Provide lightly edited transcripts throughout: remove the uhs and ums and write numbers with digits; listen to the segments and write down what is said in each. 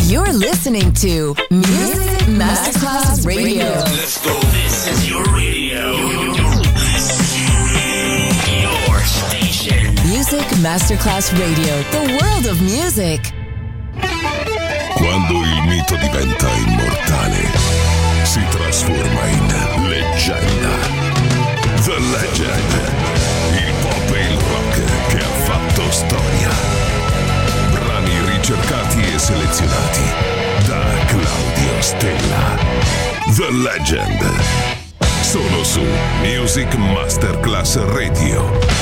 You're listening to Music Masterclass Radio. Let's go. This is your radio. Your station. Music Masterclass Radio. The world of music. Quando il mito diventa immortale, si trasforma in leggenda. The Legend. Il pop e il rock che ha fatto storia. Brani ricercati e selezionati da Claudio Stella. The Legend. Solo su Music Masterclass Radio.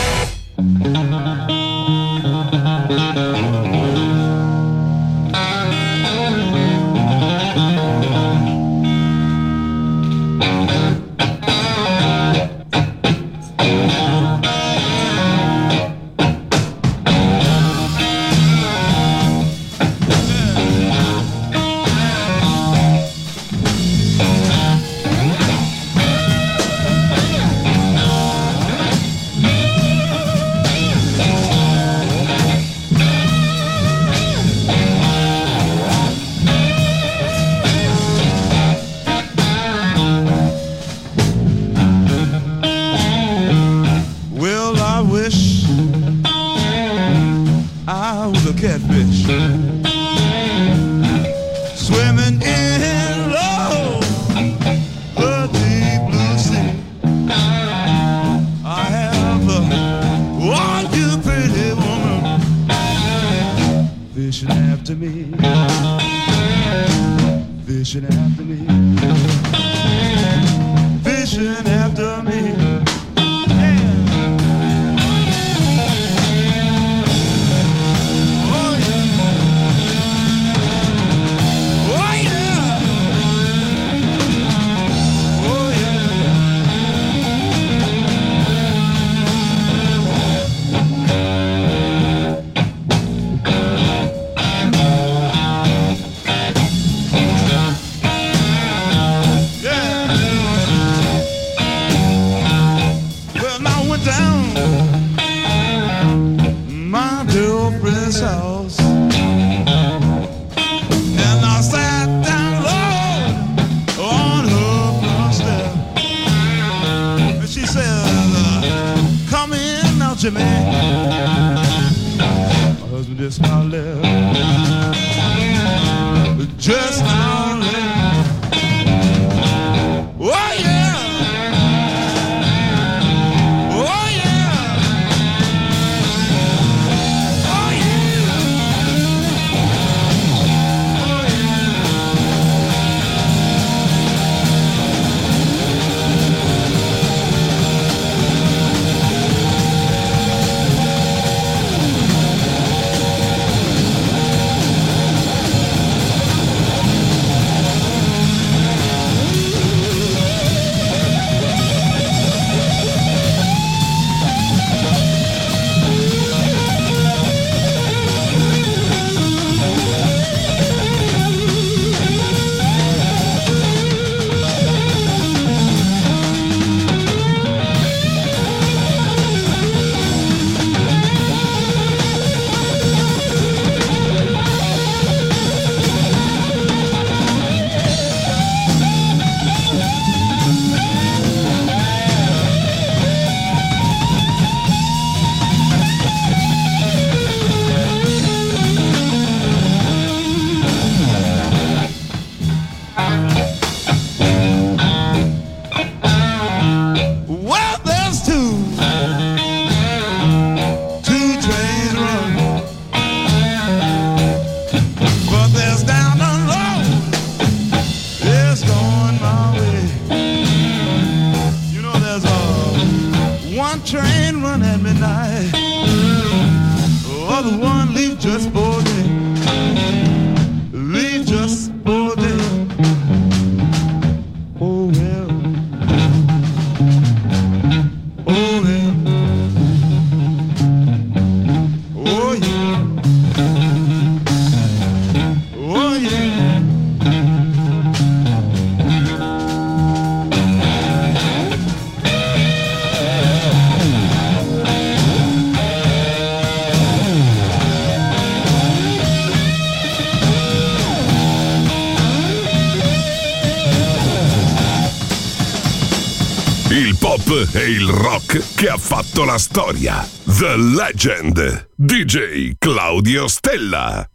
pop e il rock che ha fatto la storia. The Legend, DJ Claudio Stella.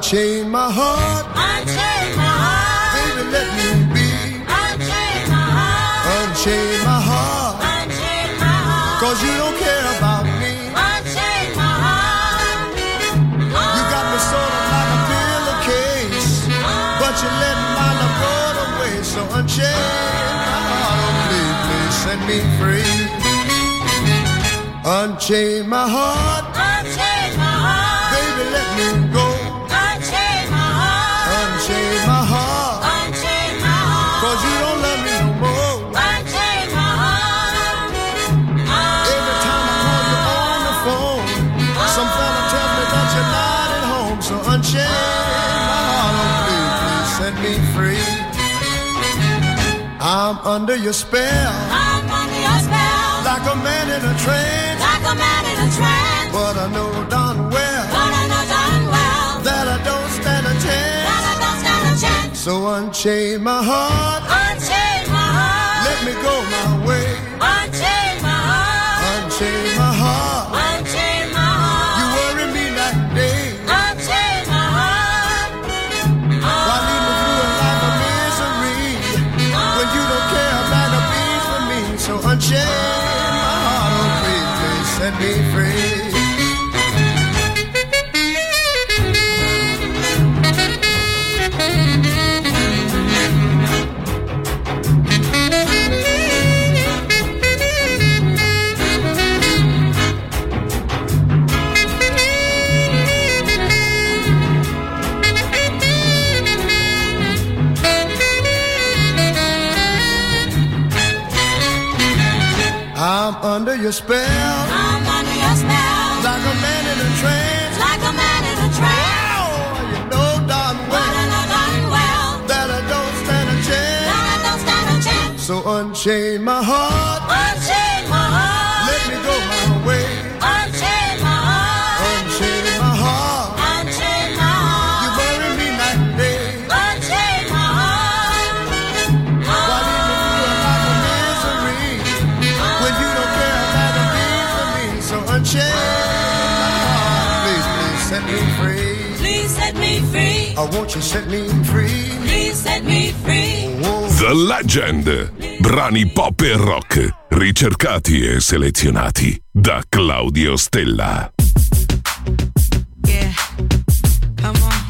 Unchain my heart. Unchain my heart. Baby, let me be. Unchain my heart. Unchain my heart. Unchain my heart. 'Cause you don't care about me. Unchain my heart. You got me sort of like a pillowcase, but you let my love go to waste. So unchain my heart. Oh, please, please set me free. Unchain my heart. Unchain my heart. Baby, let me go. Unchain my heart. Unchain my heart. Unchain my heart. 'Cause you don't love me no more. Unchain my heart. Every time I call you on the phone, some fella tells me that you're not at home. So unchain my heart. Oh, please, please set me free. I'm under your spell. I'm under your spell. Like a man in a trance. Like a man in a trance. But I know darn well. But I know darn well. That I don't stand a chance. That I don't stand a chance. So unchain my heart. Unchain my heart. Let me go my way. Unchain my heart. Unchain my heart. Unchain my heart. You worry me night and day. Unchain my heart. Why lead me through a life of misery when you don't care about a beat for me? So unchain my heart. Oh, please, please set me free. I'm under your spell. I'm under your spell. Like a man in a trance. Like a man in a trance. Oh, you know darn But well I know darn well. that I don't stand a chance. That I don't stand a chance. So unchain my heart. Unchain my heart. Let me go my way. Unchain my heart. Unchain my heart. Unchain my heart. You bury me night and day. Unchain my heart. Why lead me through a life of misery when you don't care about a thing for me? So unchain my heart. Please, please set me free. Please set me free. Oh, won't you set me free? Please set me free. Oh. The Legend. Brani pop e rock ricercati e selezionati da Claudio Stella. Yeah, come on.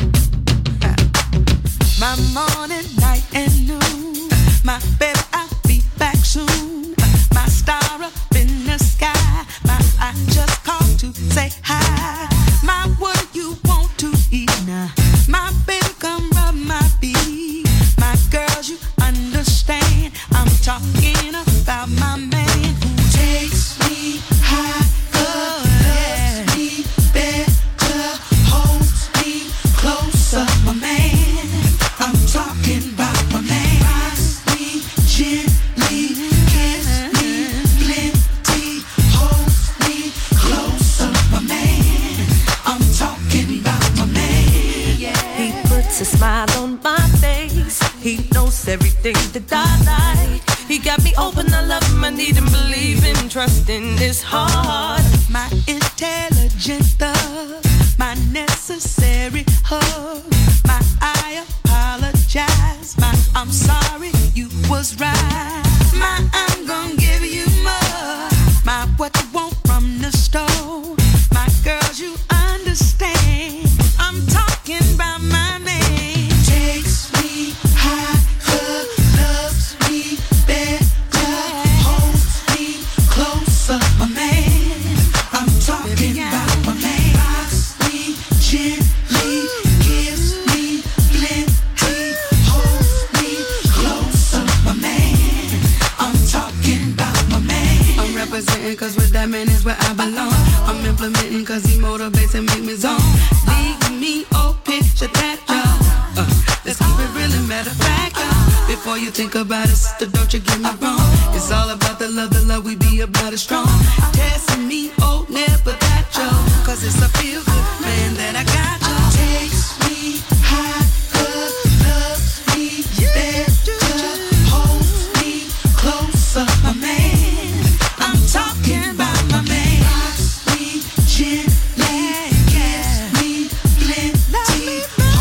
My morning, night and noon. My baby, I'll be back soon. My star up in the sky. I just called to say hi. My what you want to eat now? My baby, come rub my feet. My girls, you understand. I'm talking about my man who takes me high, loves me better, holds me closer. My man, I'm talking about my man. Rocks me gently, kiss me plenty, holds me closer. My man, I'm talking about my man. Yeah. He puts a smile on my face. He knows everything that I like. He got me open, I love him, I need him, believe in, trust in this heart. My intelligent thug, my necessary hug. My I apologize, my I'm sorry, you was right. My I'm gonna give you more, my what you want from the store. My girls, you understand, I'm talking about my man. Takes me high, loves me better, holds me closer. My man, I'm talking about my man. Rocks me gently, gives me plenty, holds me closer. My man, I'm talking about my man. I'm representing 'cause with that man is where I belong. I'm implementing 'cause he motivates and make me zone. Leave me, oh, picture that, y'all. Let's keep it real and matter of fact, y'all. Before you think about it, sister, don't you get me wrong. It's all about the love we be about it strong. Testing me, oh, never that, y'all. 'Cause it's a feel good man that I got, y'all. Takes me high, loves me better, holds me closer. My man, I'm talking about my man. Rocks me gently, gives me plenty,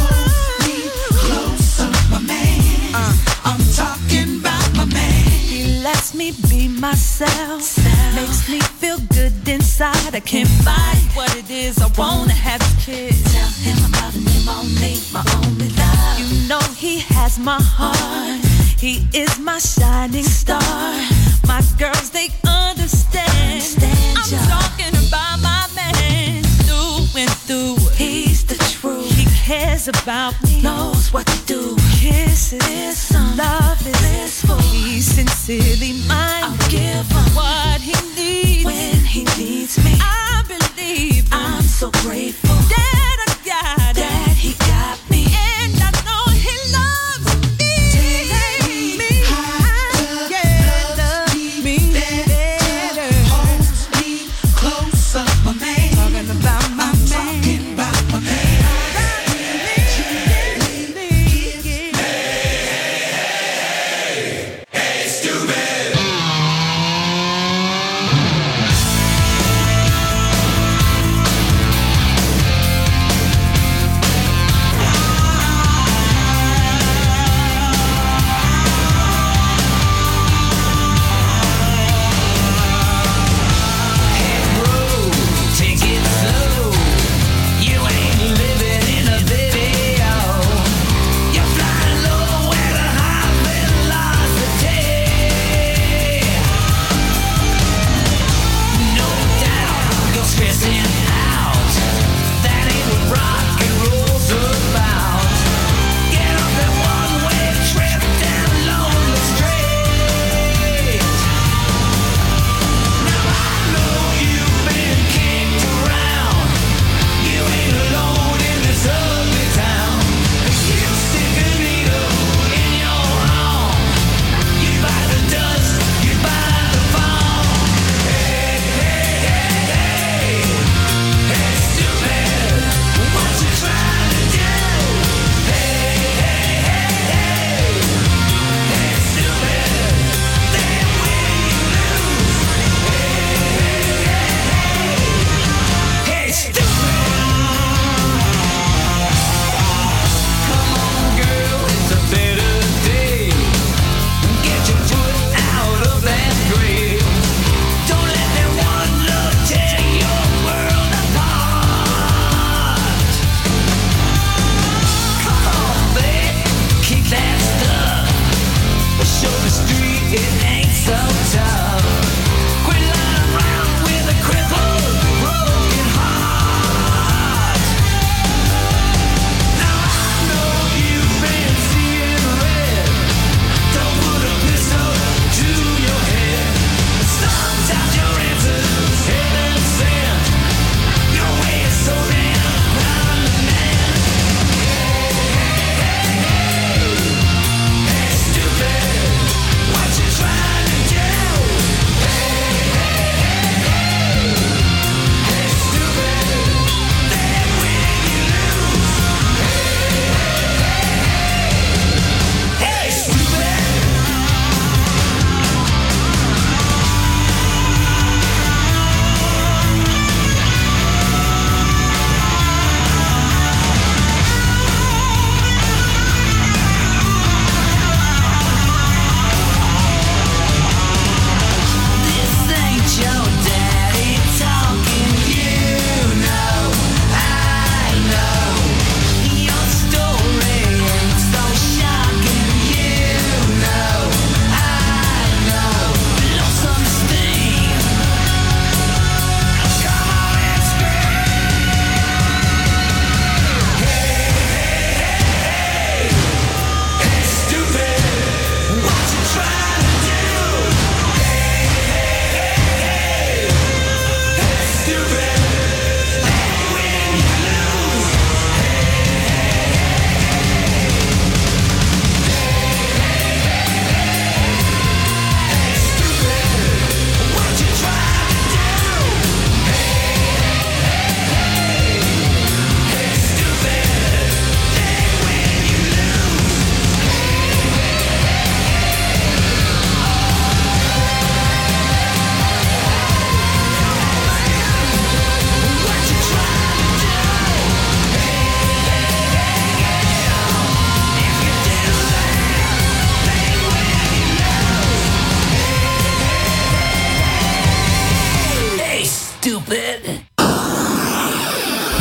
myself. Makes me feel good inside. I can't fight what it is. I wanna have a kiss. Tell him I'm loving him only, my only love. You know he has my heart. He is my shining star. My girls, they understand. I'm talking about my man through and through. He's the truth. He cares about me. Knows what to do. Kisses, love is blissful. He's sincerely mine. I'll give him what he needs when he needs me. I believe I'm so grateful that I got that he got me, and I know he loves me. Telling me how to love me better. Hold me closer, my man. Talking about my man. Talking about my man.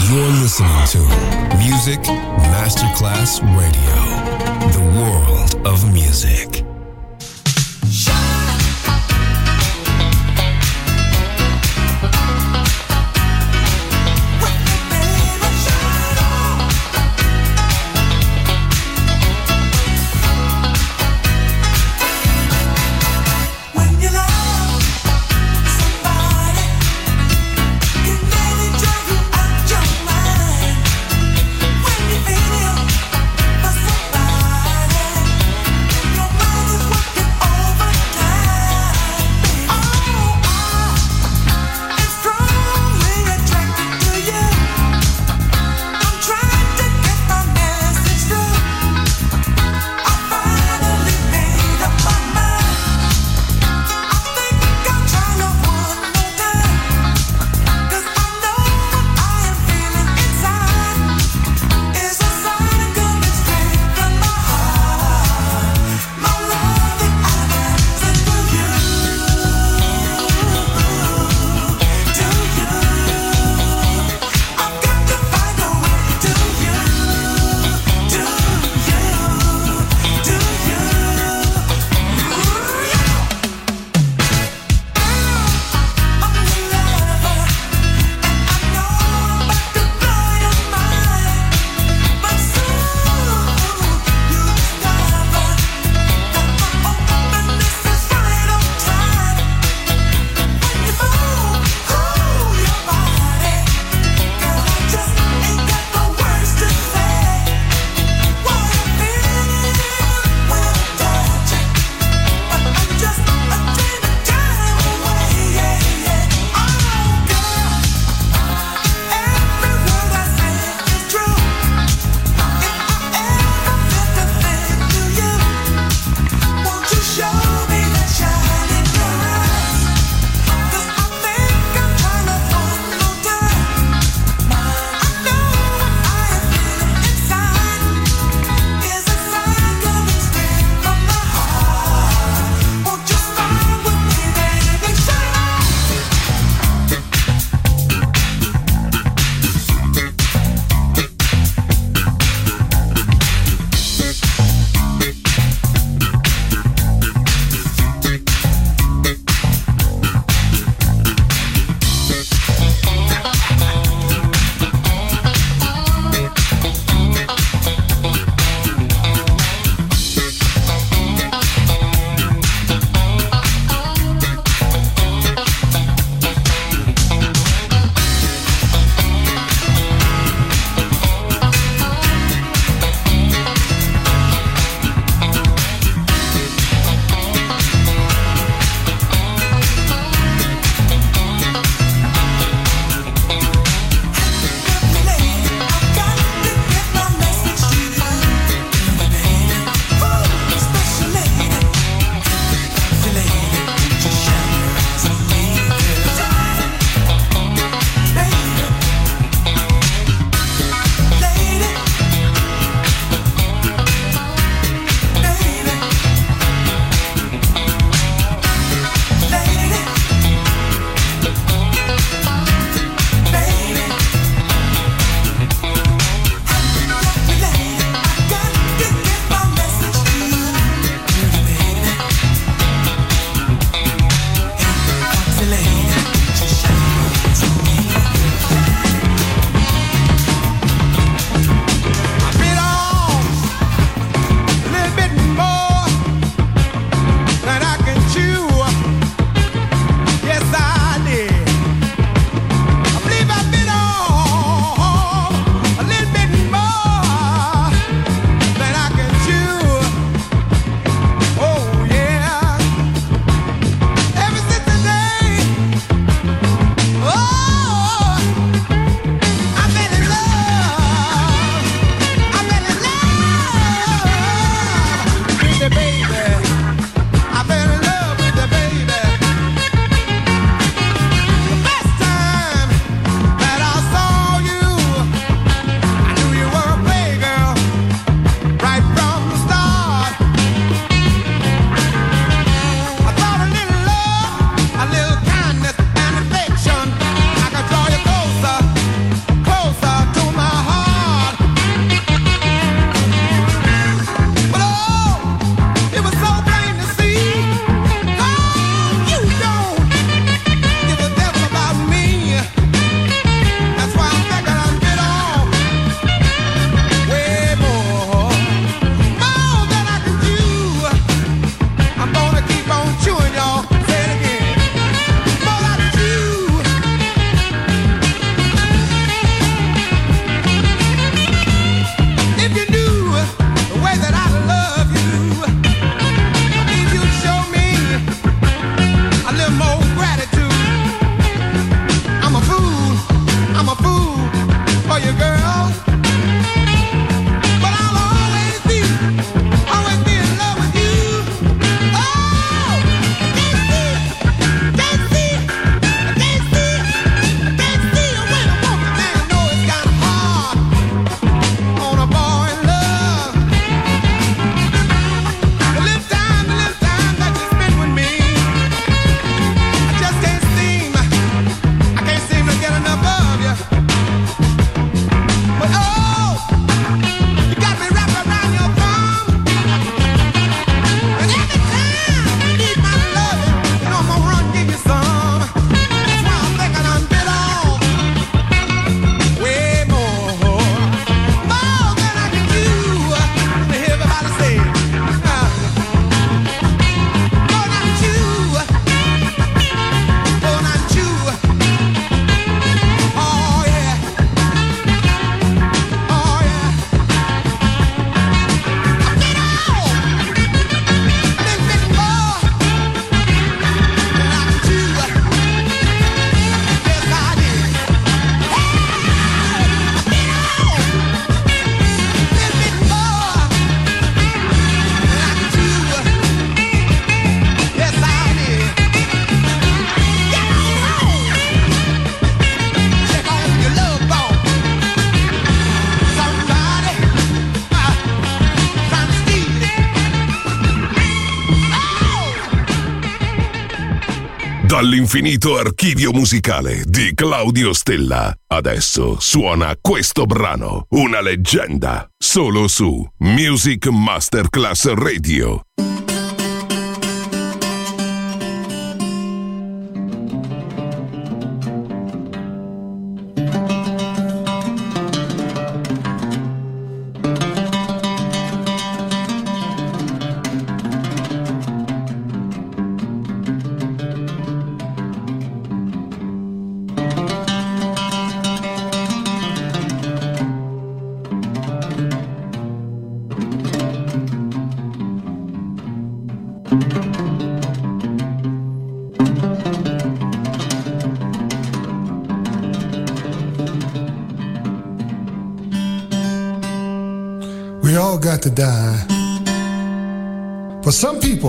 You're listening to Music Masterclass Radio, the world of music. Somebody Dall'infinito archivio musicale di Claudio Stella. Adesso suona questo brano, una leggenda, solo su Music Masterclass Radio. We all got to die. For some people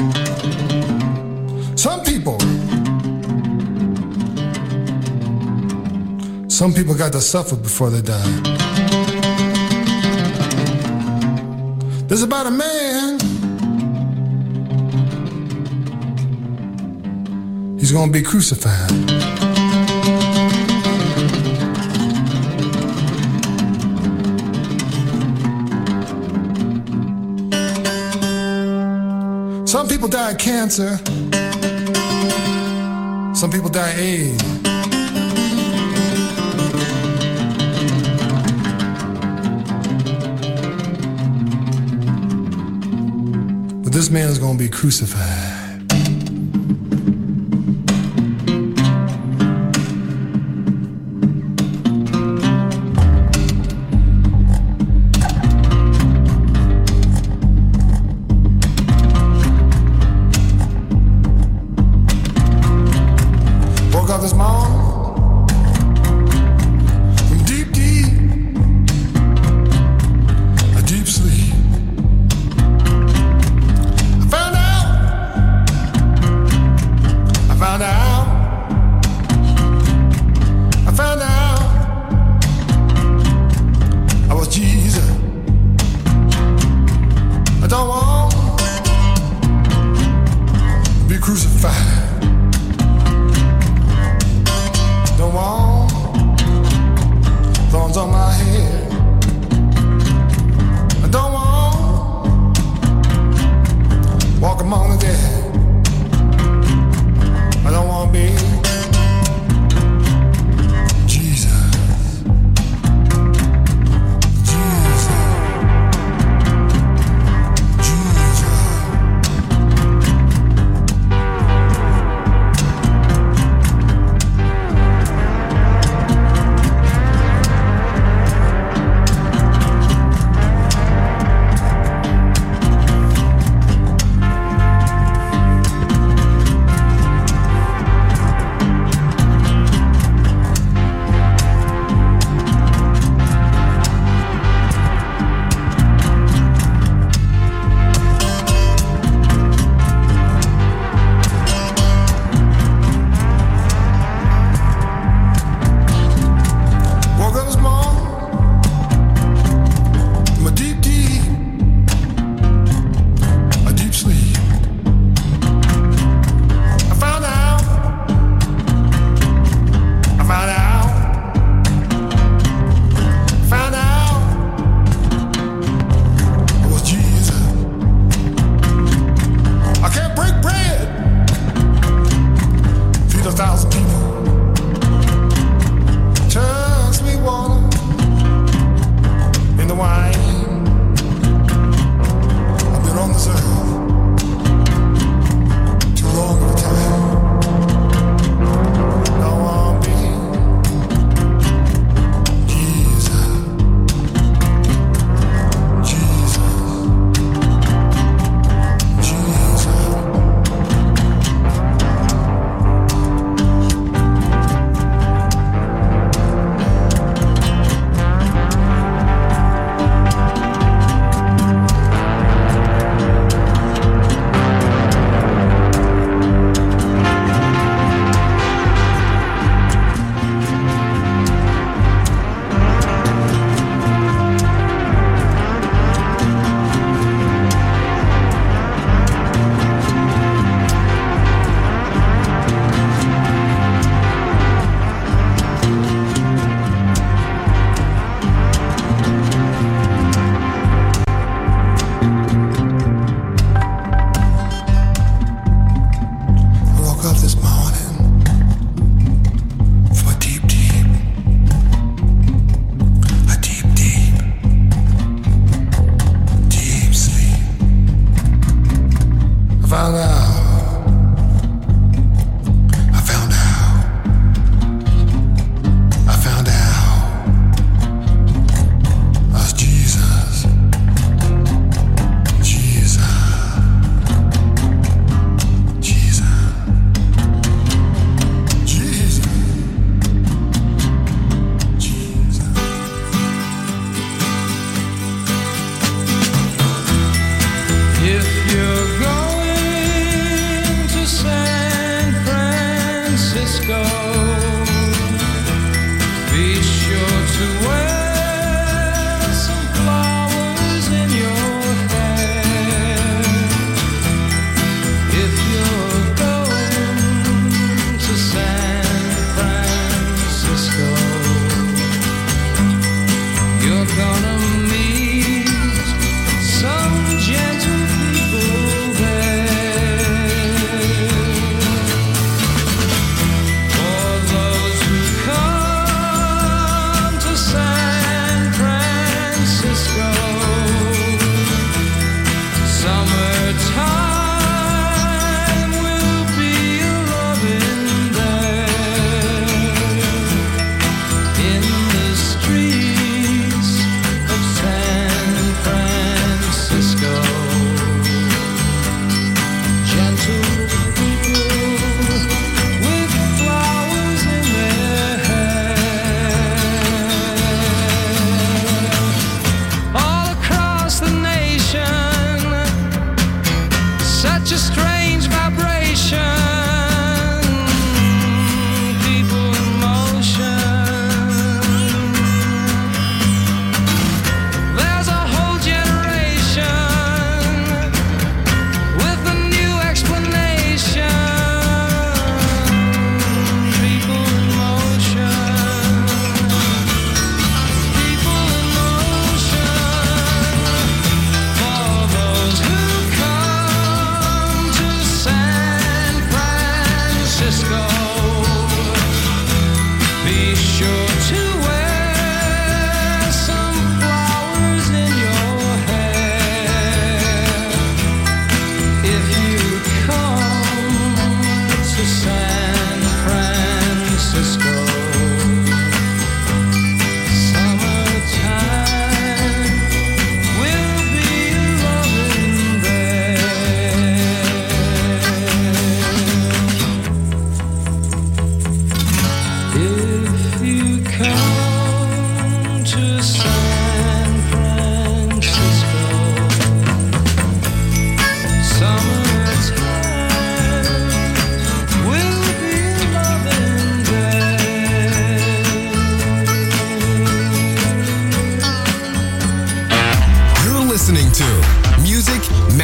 got to suffer before they die. There's about a man. He's gonna be crucified. Some people die of cancer. Some people die of AIDS. But this man is going to be crucified.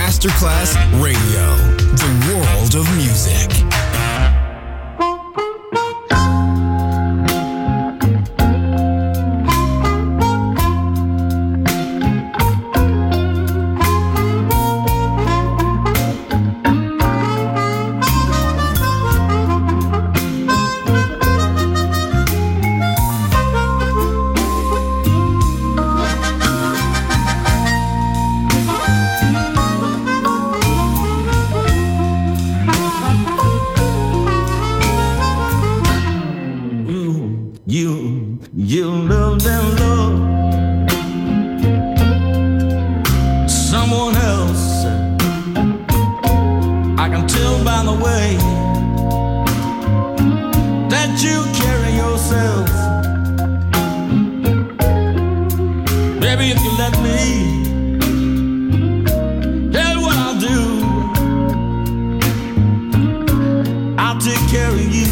Masterclass Radio, the world of music. You loved and loved someone else. I can tell by the way that you carry yourself. Baby, if you let me, here's what I'll do. I'll take care of you.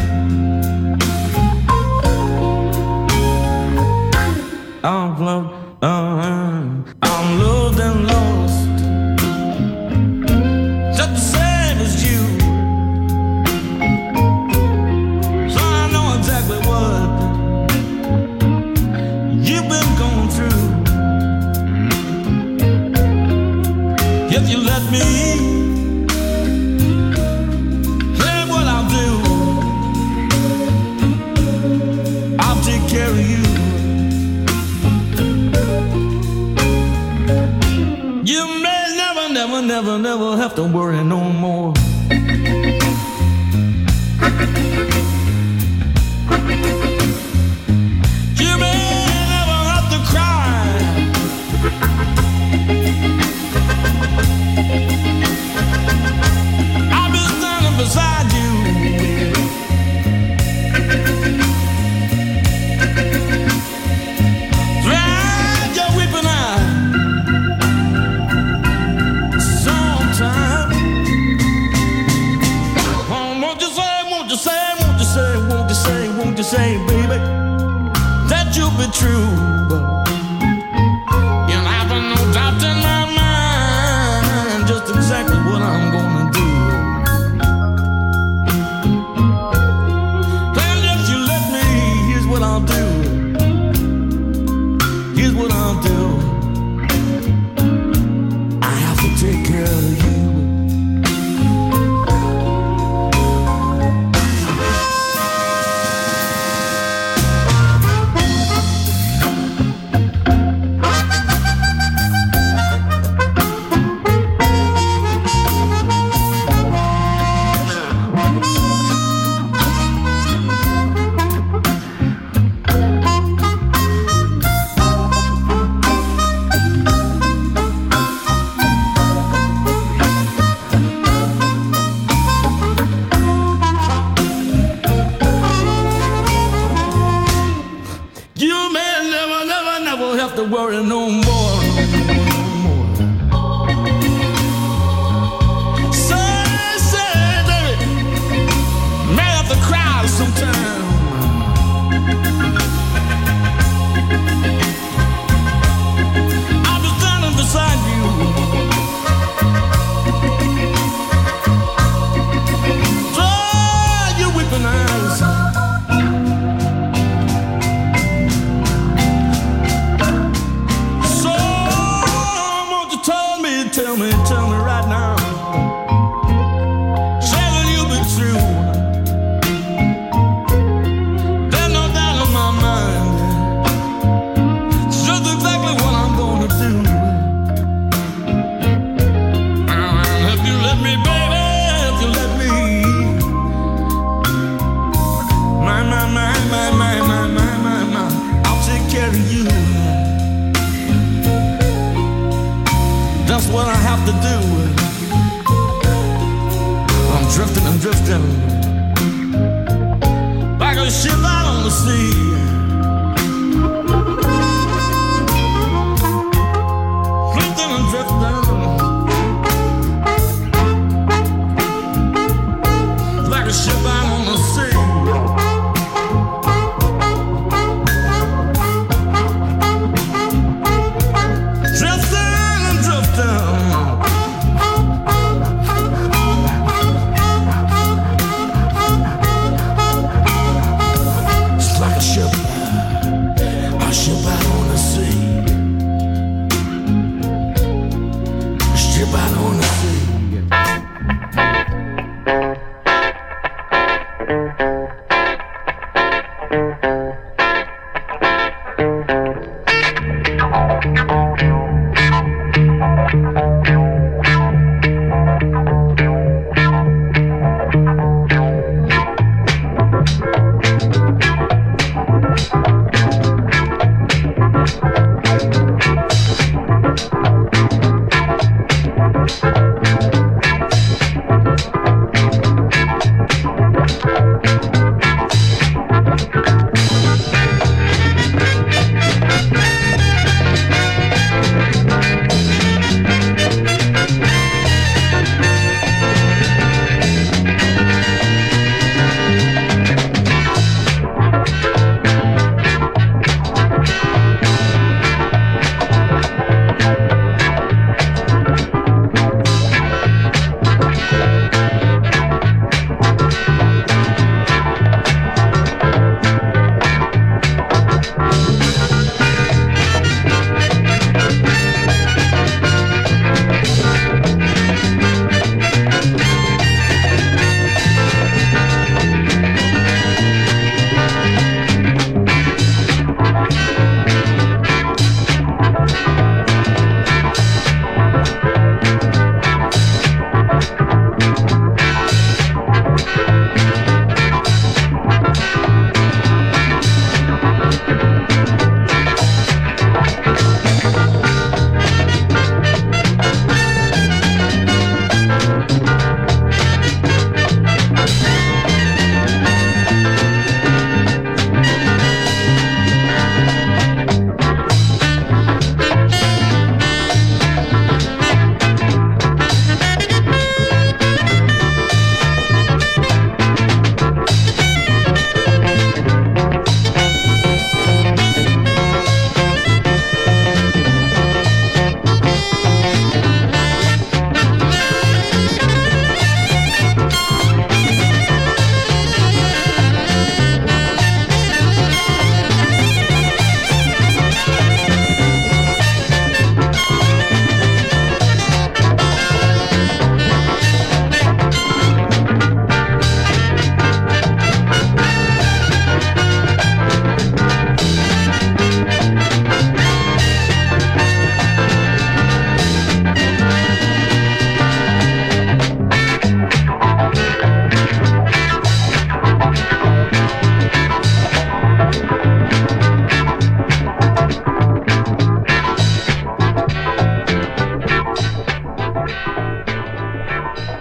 I'm loved and lost, just the same as you. So I know exactly what you've been going through. If you let me, here's what I'll do. I'll take care of you. You may never have to worry no more. You may never have to cry. I'll be standing beside you. Dry your weeping eye. Won't you say, baby, that you'll be true? You'll have no doubt in my mind just exactly what I'm gonna do. And if you let me, here's what I'll do. Here's what I'll do. I have to take care of you. Have to worry no more. Say, baby, may have to cry sometime. I'll be standing beside you. Dry your weeping eyes. Tell me right now. Say that you'll be true. There's no doubt in my mind. It's just exactly what I'm gonna do. If you let me, baby, if you let me. My, I'll take care of you. That's what I have to do. I'm drifting like a ship out on the sea. Drifting and drifting like a ship out on the sea. Drifting and drifting.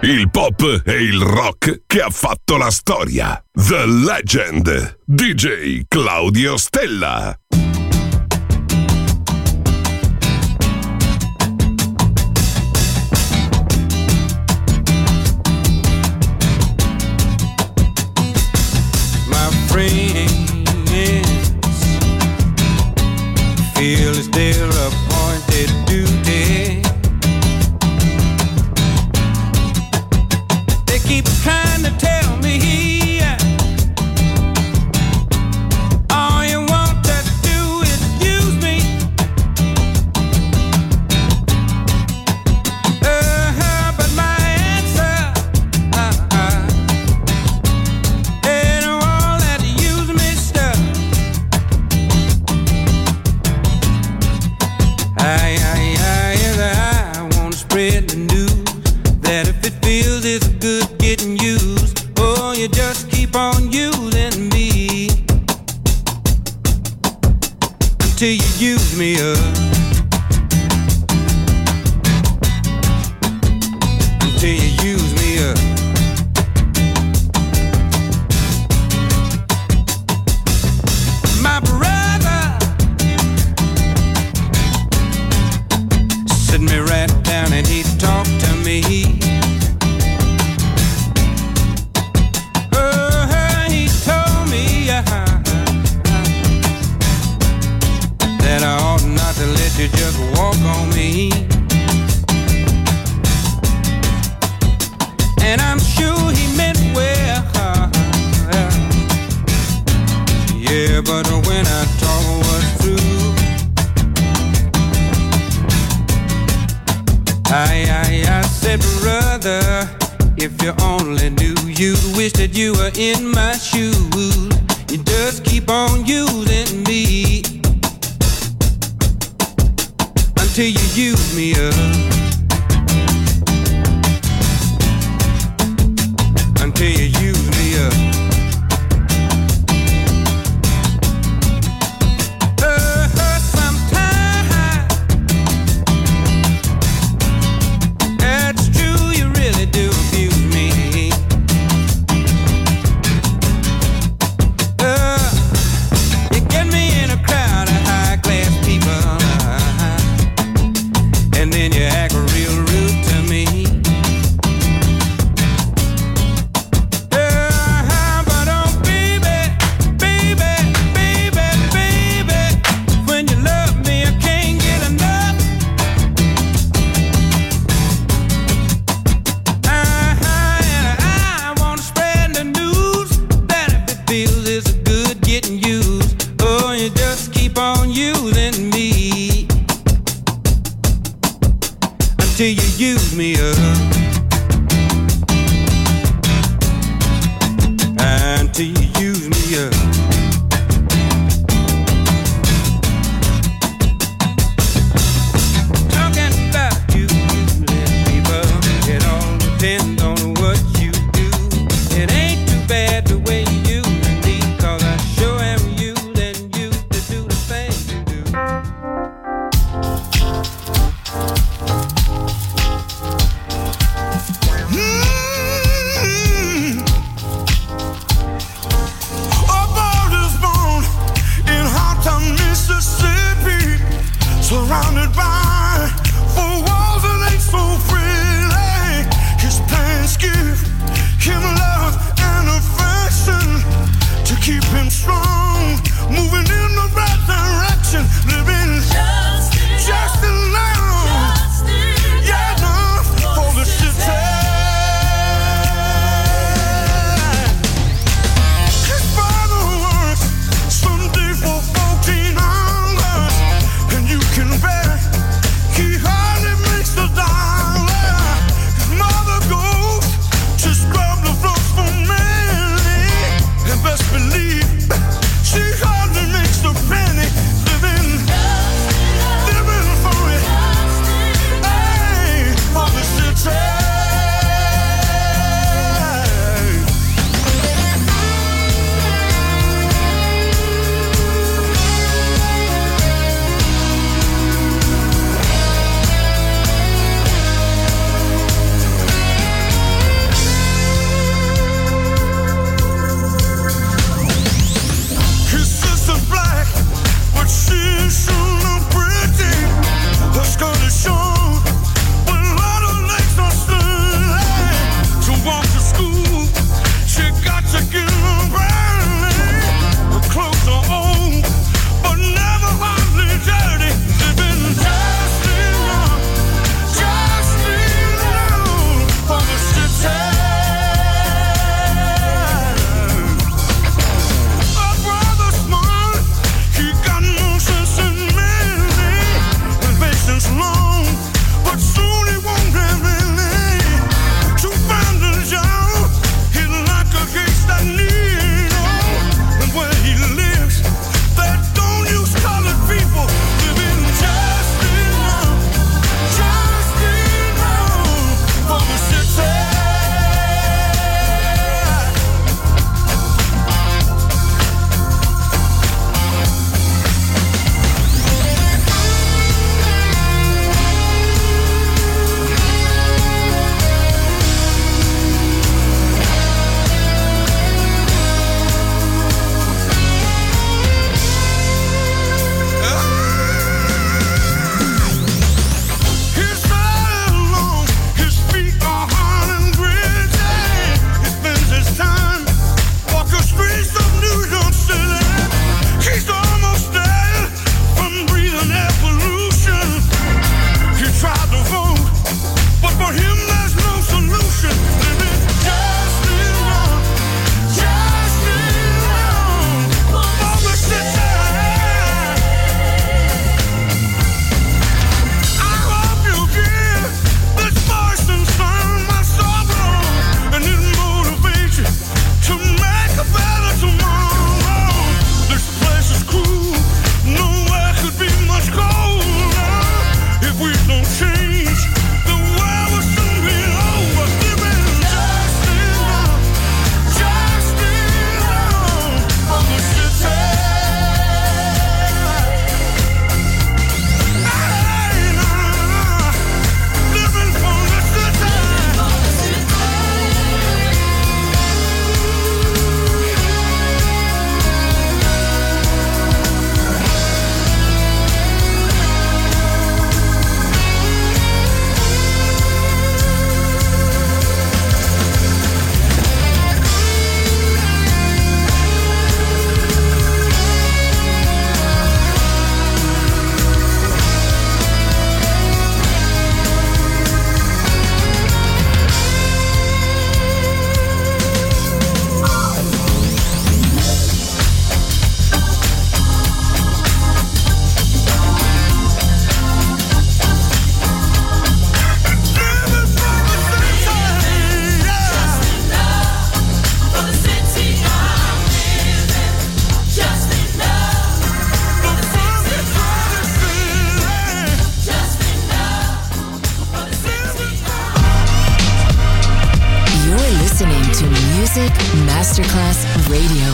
il pop e il rock che ha fatto la storia. The Legend, DJ Claudio Stella. My friends feel it's their appointed duty. They keep trying to tell me all you want to do is use me. But my answer ain't all that use me stuff. I wanna spread the news that if it feels it's good getting used, oh, you just keep on using me until you use me up. Until you use me up. My brother sit me right down and he talked to me. He told me that I ought not to let you just walk on me. And I'm sure he meant well. Yeah, but when I talk was through, I said, brother, if you only knew, you'd wish that you were in my shoes. You just keep on using me until you use me up. Until you use me up. Until you use me up. Until you use me up. Talking about you, let people, it all depends on what you do. It ain't too bad the way you use me, 'cause I sure am using you to do the things you do. Surrounded by four walls that ain't so freely. His plans give him love and affection to keep him strong, moving in the right direction, living just enough, yeah, enough for the city. His father works Sunday for 14 hours, and you can bet he hardly makes the dollar. His mother goes to scrub the floors for Mary, and best believe Music Masterclass Radio.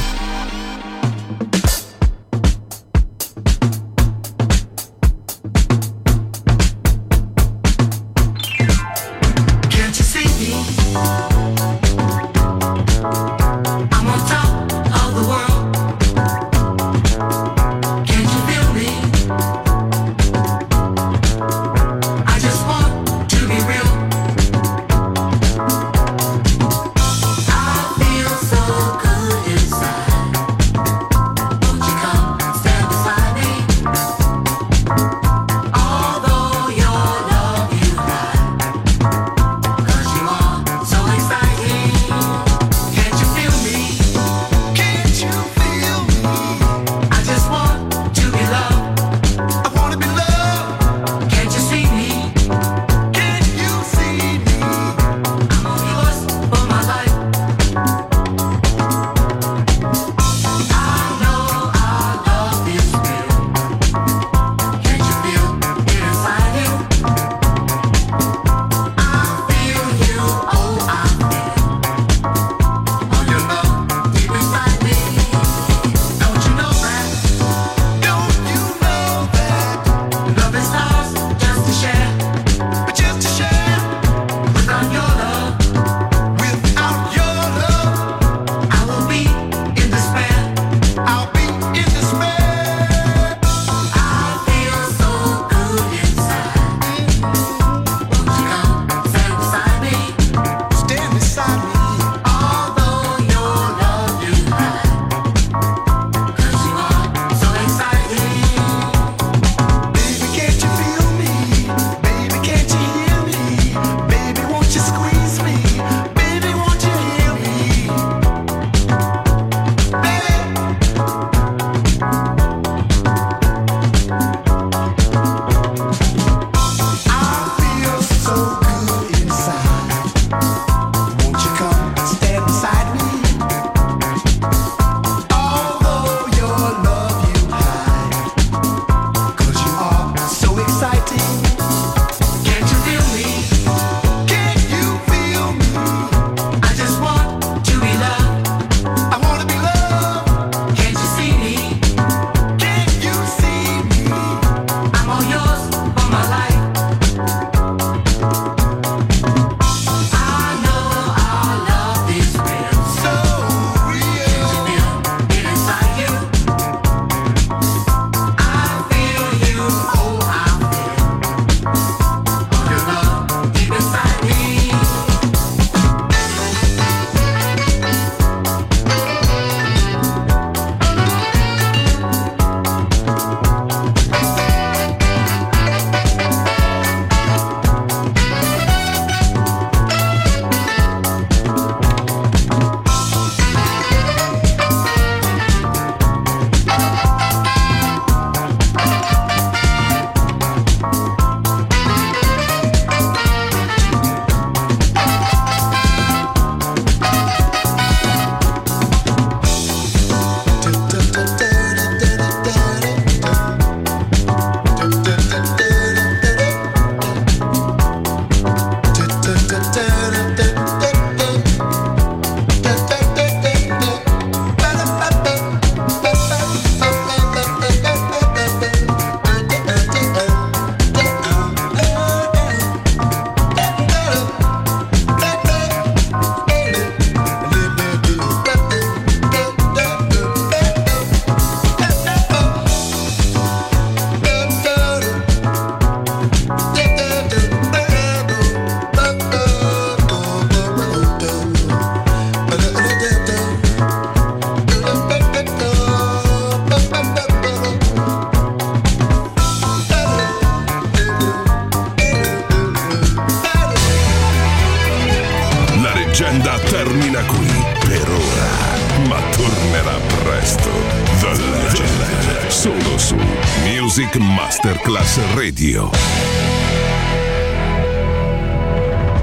leggenda termina qui per ora, ma tornerà presto. The Legend, solo su Music Masterclass Radio.